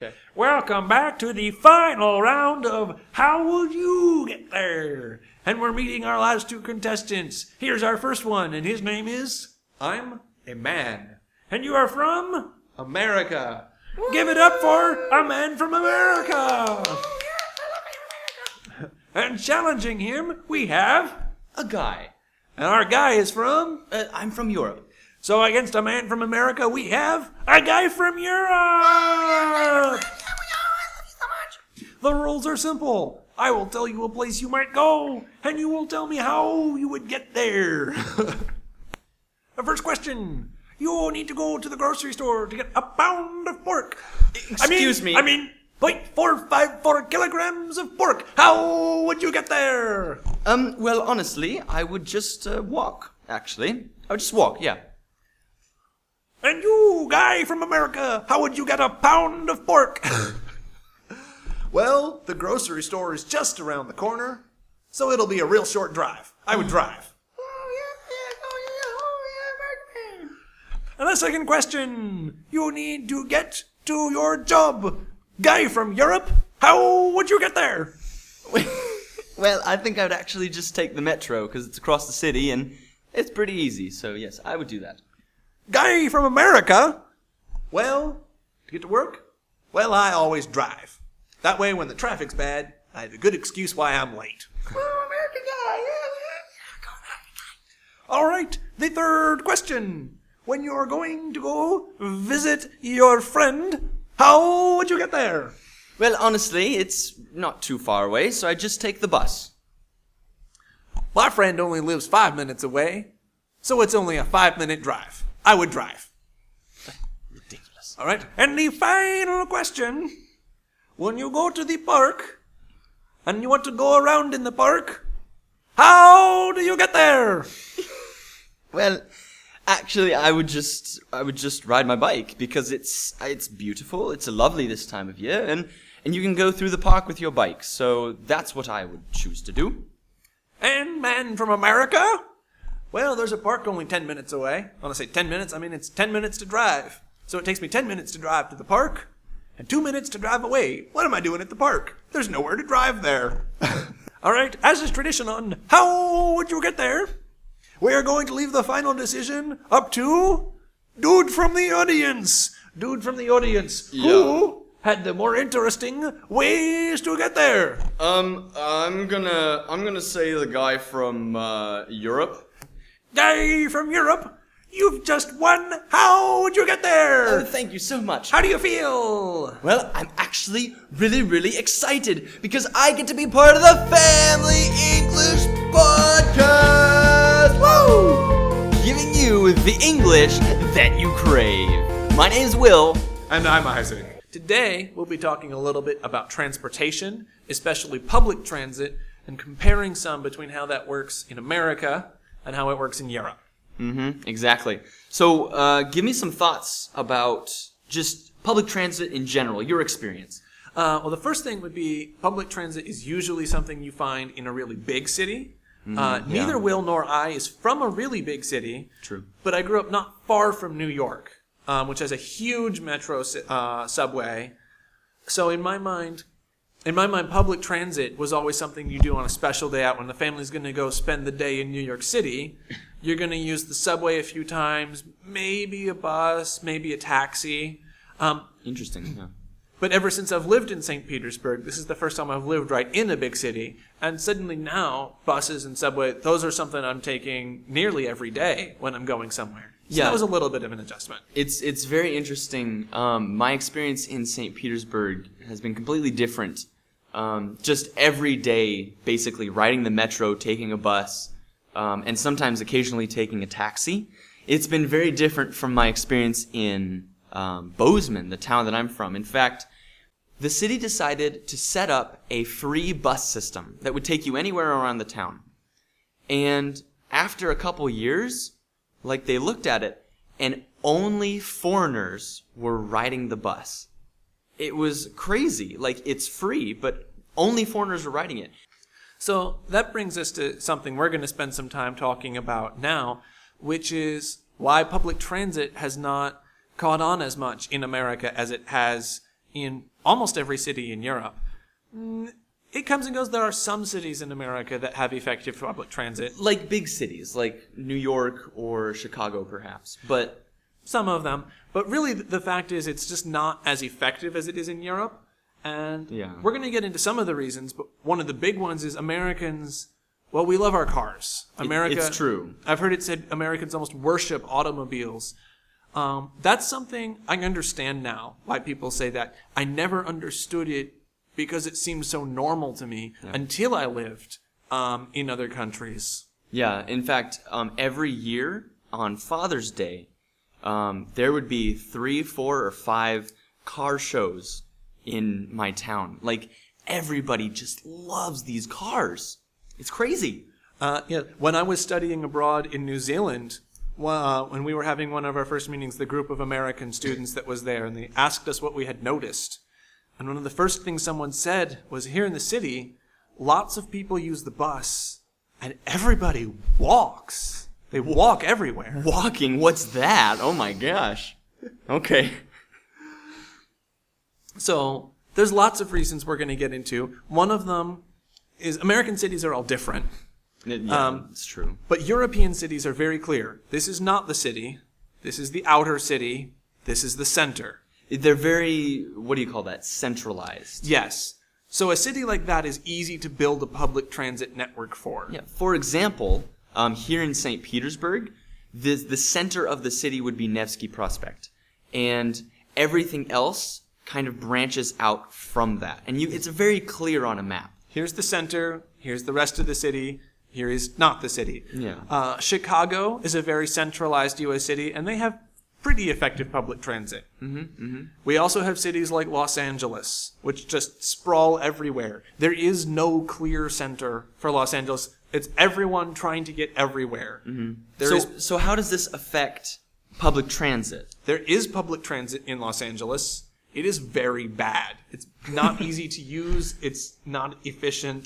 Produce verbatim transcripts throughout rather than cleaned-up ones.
Okay. Welcome back to the final round of How Will You Get There? And we're meeting our last two contestants. Here's our first one, and his name is... I'm a man. And you are from... America. Woo! Give it up for a man from America. Oh, yes, I love America. And challenging him, we have... A guy. And our guy is from... Uh, I'm from Europe. So against a man from America, we have a guy from Europe! Oh, yeah, yeah, we are. I love you so much. The rules are simple. I will tell you a place you might go, and you will tell me how you would get there. The first question. You need to go to the grocery store to get a pound of pork. Excuse I mean, me. I mean, zero point four five four kilograms of pork. How would you get there? Um, well, honestly, I would just uh, walk, actually. I would just walk, yeah. And you, guy from America, how would you get a pound of pork? Well, the grocery store is just around the corner, so it'll be a real short drive. I would drive. Oh, yeah, yeah, oh, yeah, oh, yeah, American. And the second question. You need to get to your job. Guy from Europe, how would you get there? Well, I think I would actually just take the metro, because it's across the city, and it's pretty easy, so yes, I would do that. Guy from America? Well, to get to work? Well, I always drive. That way, when the traffic's bad, I have a good excuse why I'm late. Oh, American guy, yeah, yeah. All right, the third question. When you're going to go visit your friend, how would you get there? Well, honestly, it's not too far away, so I just take the bus. My friend only lives five minutes away, so it's only a five-minute drive. I would drive. Ridiculous. All right. And the final question. When you go to the park and you want to go around in the park, how do you get there? Well, actually, I would just I would just ride my bike because it's it's beautiful. It's lovely this time of year, and and you can go through the park with your bike. So that's what I would choose to do. And man from America? Well, there's a park only ten minutes away. When I say ten minutes, I mean it's ten minutes to drive. So it takes me ten minutes to drive to the park and two minutes to drive away. What am I doing at the park? There's nowhere to drive there. All right, as is tradition on How Would You Get There? We are going to leave the final decision up to Dude from the audience. Dude from the audience. Yeah. Who had the more interesting ways to get there? Um, I'm gonna I'm gonna say the guy from uh, Europe. Guy from Europe, you've just won. How would you get there? Oh, thank you so much. How do you feel? Well, I'm actually really, really excited because I get to be part of the Family English Podcast! Woo! Giving you the English that you crave. My name's Will. And I'm Isaac. Today, we'll be talking a little bit about transportation, especially public transit, and comparing some between how that works in America and how it works in Europe. Mm-hmm, exactly. So, uh, give me some thoughts about just public transit in general, your experience. Uh, well, the first thing would be public transit is usually something you find in a really big city. Mm, uh, yeah. Neither Will nor I is from a really big city. True. But I grew up not far from New York, um, which has a huge metro uh, subway. So in my mind... In my mind, public transit was always something you do on a special day out when the family's going to go spend the day in New York City. You're going to use the subway a few times, maybe a bus, maybe a taxi. Um, Interesting, yeah. but ever since I've lived in Saint Petersburg, this is the first time I've lived right in a big city. And suddenly now, buses and subway, those are something I'm taking nearly every day when I'm going somewhere. So Yeah. that was a little bit of an adjustment. It's it's very interesting. Um, my experience in Saint Petersburg has been completely different. Um, just every day, basically, riding the metro, taking a bus, um, and sometimes occasionally taking a taxi. It's been very different from my experience in um, Bozeman, the town that I'm from. In fact, the city decided to set up a free bus system that would take you anywhere around the town. And after a couple years, like they looked at it, and only foreigners were riding the bus. It was crazy. Like, it's free, but only foreigners were riding it. So that brings us to something we're going to spend some time talking about now, which is why public transit has not caught on as much in America as it has in almost every city in Europe. Mm, It comes and goes. There are some cities in America that have effective public transit. Like big cities, like New York or Chicago, perhaps. But Some of them. But really, the fact is it's just not as effective as it is in Europe. And Yeah. we're going to get into some of the reasons, but one of the big ones is Americans, well, we love our cars. America. it's true. I've heard it said Americans almost worship automobiles. Um, that's something I understand now, why people say that. I never understood it because it seemed so normal to me until I lived um, in other countries. Yeah, in fact, um, every year on Father's Day, um, there would be three, four, or five car shows in my town. Like, everybody just loves these cars. It's crazy. Uh, yeah, when I was studying abroad in New Zealand, uh, when we were having one of our first meetings, the group of American students that was there, and they asked us what we had noticed. And one of the first things someone said was, here in the city, lots of people use the bus, and everybody walks. They walk everywhere. Walking, what's that? Oh my gosh. Okay. So there's lots of reasons we're going to get into. One of them is American cities are all different. Yeah, Um, it's true. But European cities are very clear. This is not the city. This is the outer city. This is the center. They're very, what do you call that, centralized. Yes. So a city like that is easy to build a public transit network for. Yeah. For example, um, here in Saint Petersburg, the, the center of the city would be Nevsky Prospect. And everything else kind of branches out from that. And you, it's very clear on a map. Here's the center. Here's the rest of the city. Here is not the city. Yeah. Uh, Chicago is a very centralized U S city, and they have pretty effective public transit. Mm-hmm, mm-hmm. We also have cities like Los Angeles, which just sprawl everywhere. There is no clear center for Los Angeles. It's everyone trying to get everywhere. Mm-hmm. There so, is- so how does this affect public transit? There is public transit in Los Angeles. It is very bad. It's not easy to use. It's not efficient.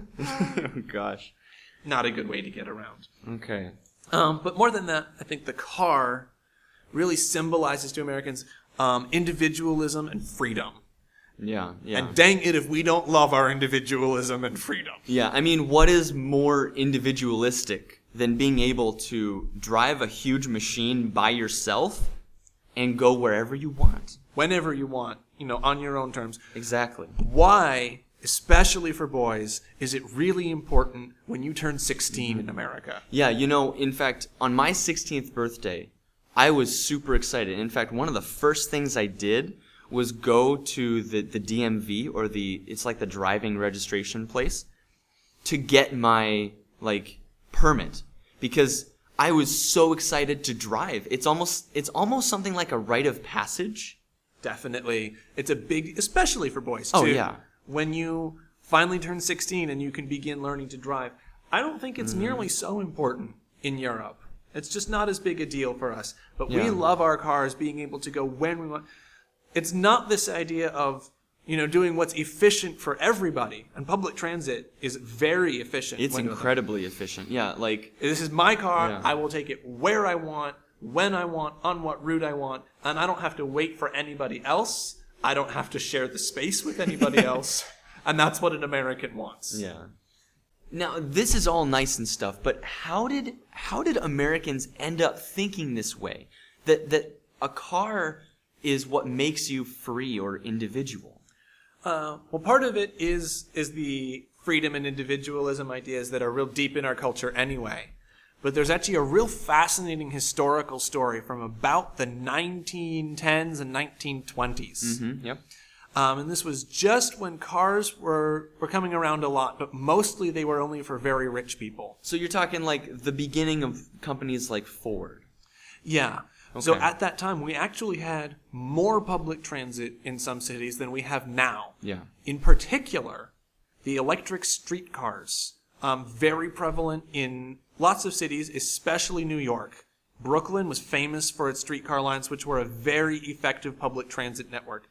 Oh, gosh. Not a good way to get around. Okay. Um, but more than that, I think the car really symbolizes to Americans um, individualism and freedom. Yeah, yeah. And dang it if we don't love our individualism and freedom. Yeah, I mean, what is more individualistic than being able to drive a huge machine by yourself and go wherever you want? Whenever you want, you know, on your own terms. Exactly. Why, especially for boys, is it really important when you turn sixteen in America? Yeah, you know, in fact, on my sixteenth birthday, I was super excited. In fact, one of the first things I did was go to the, the D M V, or the, it's like the driving registration place, to get my, like, permit. Because I was so excited to drive. It's almost, it's almost something like a rite of passage. Definitely. It's a big, especially for boys, too. Oh, yeah. When you finally turn sixteen and you can begin learning to drive. I don't think it's mm. nearly so important in Europe. It's just not as big a deal for us. But Yeah. we love our cars being able to go when we want. It's not this idea of, you know, doing what's efficient for everybody. And public transit is very efficient. It's when- incredibly efficient. Yeah, like, This is my car. Yeah. I will take it where I want, when I want, on what route I want. And I don't have to wait for anybody else. I don't have to share the space with anybody else. And that's what an American wants. yeah. Now, this is all nice and stuff, but how did how did Americans end up thinking this way? That that a car is what makes you free or individual? Uh, well, part of it is is the freedom and individualism ideas that are real deep in our culture anyway. But there's actually a real fascinating historical story from about the nineteen tens and nineteen twenties. Mm-hmm. Yep. Um, and this was just when cars were, were coming around a lot, but mostly they were only for very rich people. So you're talking like the beginning of companies like Ford. Yeah. So Okay. at that time, we actually had more public transit in some cities than we have now. Yeah. In particular, the electric streetcars, um, very prevalent in lots of cities, especially New York. Brooklyn was famous for its streetcar lines, which were a very effective public transit network.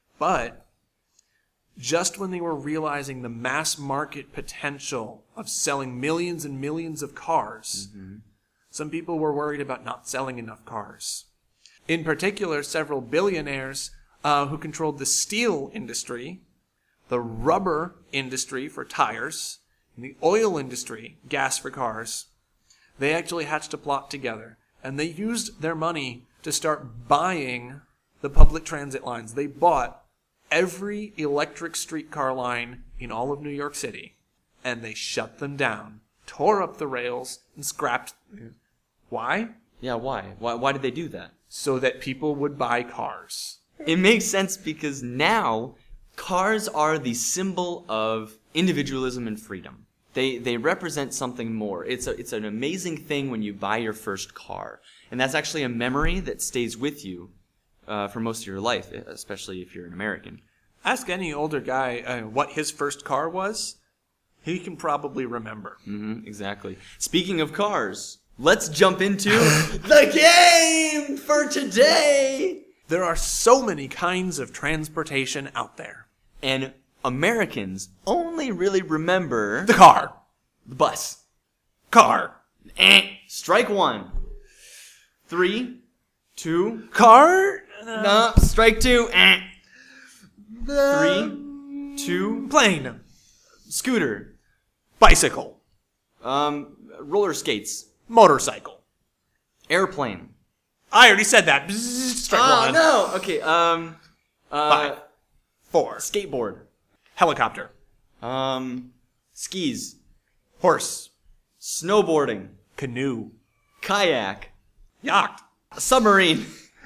But just when they were realizing the mass market potential of selling millions and millions of cars, mm-hmm. some people were worried about not selling enough cars. In particular, several billionaires uh, who controlled the steel industry, the rubber industry for tires, and the oil industry, gas for cars. They actually hatched a plot together, and they used their money to start buying the public transit lines. They bought every electric streetcar line in all of New York City, and they shut them down, tore up the rails, and scrapped. Why? Yeah, why? Why, why did they do that? So that people would buy cars. It makes sense because now cars are the symbol of individualism and freedom. They they represent something more. It's a, it's an amazing thing when you buy your first car. And that's actually a memory that stays with you uh, for most of your life, especially if you're an American. Ask any older guy uh, what his first car was. He can probably remember. Mm-hmm, exactly. Speaking of cars, let's jump into the game for today. There are so many kinds of transportation out there. And Americans only really remember The car. the bus. Car. Eh. Strike one. Three, two, Car. no, strike two. Eh. Three, two, Plane. scooter. Bicycle. Um, roller skates. Motorcycle. Airplane. I already said that. Bzzz, strike Oh, one. no. Okay, um, uh, Five. Four. skateboard. Helicopter. Um, skis. Horse. Snowboarding. Canoe. Kayak. Yacht. Submarine.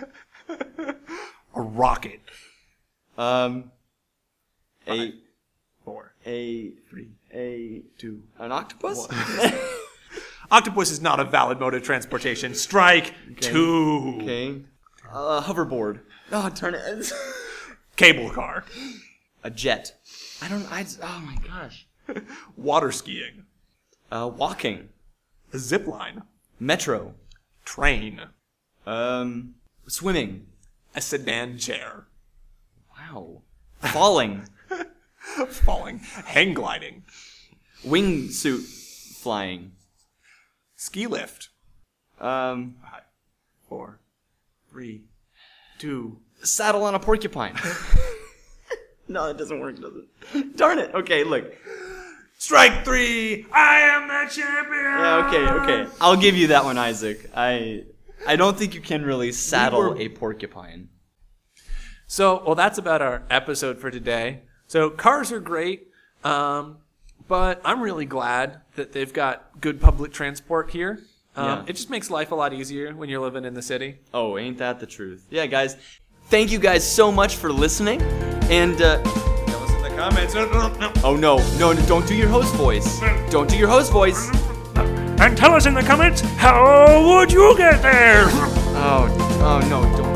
A rocket. Um, a, Four. a, Three. a, Two. an octopus? Octopus is not a valid mode of transportation. Strike two. Okay. Uh, hoverboard. Oh, turn it. Cable car. A jet. I don't, I, oh my gosh. Water skiing. Uh, walking. A zip line. Metro. Train. Um, swimming. A sedan chair. Wow. Falling. Falling. Hang gliding. Wingsuit flying. Ski lift. Um, Five. Four. Three. Two. saddle on a porcupine. No, it doesn't work, does it? Darn it. Okay, look. Strike three. I am the champion. Yeah, okay, okay. I'll give you that one, Isaac. I I don't think you can really saddle were- a porcupine. So, well, that's about our episode for today. So, cars are great, um, but I'm really glad that they've got good public transport here. Um, Yeah. It just makes life a lot easier when you're living in the city. Oh, ain't that the truth? Yeah, guys. Thank you guys so much for listening. And, uh, Tell us in the comments. No, no, no. oh no, no, don't do your host voice. Don't do your host voice. And tell us in the comments, how would you get there? Oh, oh no, don't.